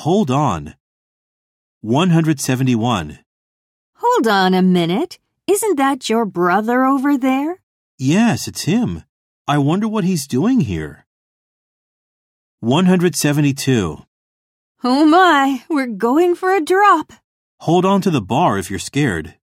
Hold on. 171. Hold on a minute. Isn't that your brother over there? Yes, it's him. I wonder what he's doing here. 172. Oh my, we're going for a drop. Hold on to the bar if you're scared.